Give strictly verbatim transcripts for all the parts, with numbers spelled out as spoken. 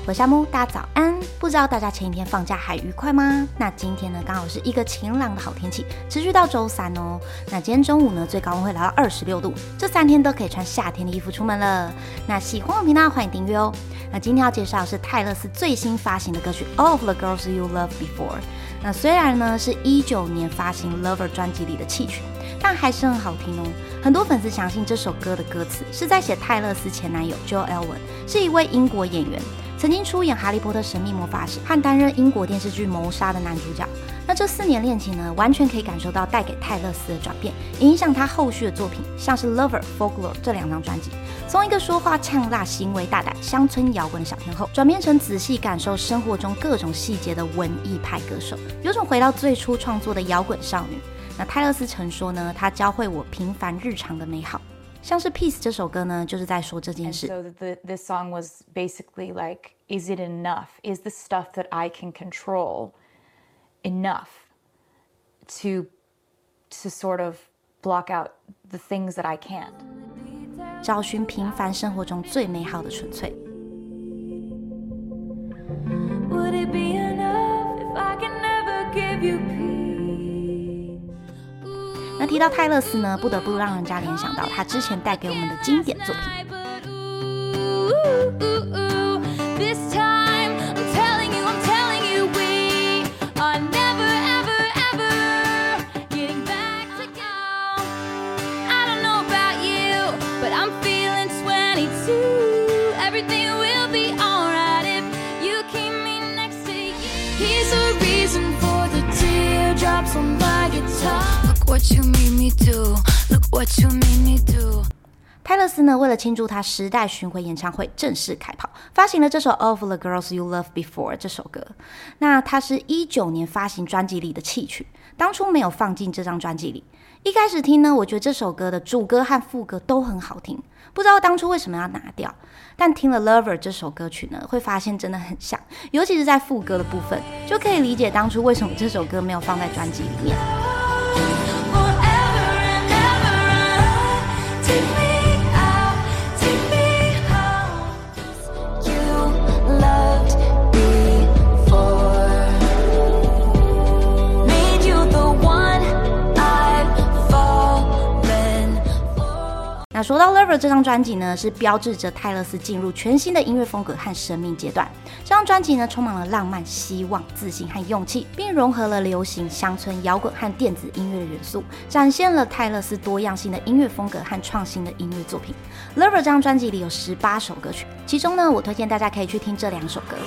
我是夏木，大家早安。不知道大家前一天放假还愉快吗？那今天呢，刚好是一个晴朗的好天气，持续到周三哦。那今天中午呢，最高温会来到二十六度，这三天都可以穿夏天的衣服出门了。那喜欢我频道，欢迎订阅哦。那今天要介绍的是泰勒斯最新发行的歌曲《All of the Girls You Loved Before》。那虽然呢是一九年发行《Lover》专辑里的弃曲，但还是很好听哦。很多粉丝相信这首歌的歌词是在写泰勒斯前男友 Joel Elwyn， 是一位英国演员，曾经出演《哈利波特神秘魔法使》和担任英国电视剧《谋杀》的男主角。那这四年恋情呢，完全可以感受到带给泰勒斯的转变，也影响他后续的作品，像是《Lover》、《Folklore》这两张专辑，从一个说话呛辣、行为大胆、乡村摇滚的小天后，转变成仔细感受生活中各种细节的文艺派歌手，有种回到最初创作的摇滚少女。那泰勒斯曾说呢，他教会我平凡日常的美好。像是 Peace 这首歌呢，就是在说这件事。 And so the, this song was basically like, is it enough? Is the stuff that I can control enough to, to sort of block out the things that I can't? 找寻平凡生活中最美好的纯粹。 Would it be enough if I can never give you peace? 那提到泰勒斯呢，不得不让人家联想到他之前带给我们的经典作品。 What you made me do, look what you made me do. 泰勒斯呢，为了庆祝他时代巡回演唱会正式开跑，发行了这首《All of the Girls You Loved Before》这首歌。那它是一九年发行专辑里的弃曲，当初没有放进这张专辑里。一开始听呢，我觉得这首歌的主歌和副歌都很好听，不知道当初为什么要拿掉。但听了《Lover》这首歌曲呢，会发现真的很像，尤其是在副歌的部分，就可以理解当初为什么这首歌没有放在专辑里面。那说到 Lover 这张专辑呢，是标志着泰勒斯进入全新的音乐风格和生命阶段。这张专辑呢，充满了浪漫、希望、自信和勇气，并融合了流行、乡村摇滚和电子音乐的元素，展现了泰勒斯多样性的音乐风格和创新的音乐作品。Lover 这张专辑里有十八首歌曲，其中呢，我推荐大家可以去听这两首歌。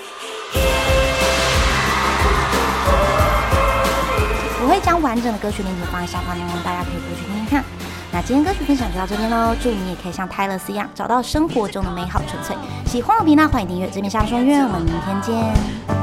我会将完整的歌曲链接放在下方，大家可以过去听听看。那今天歌曲分享就到这边咯，祝你也可以像泰勒斯一样找到生活中的美好纯粹。喜欢我频道，欢迎订阅，这边下方说音乐，我们明天见。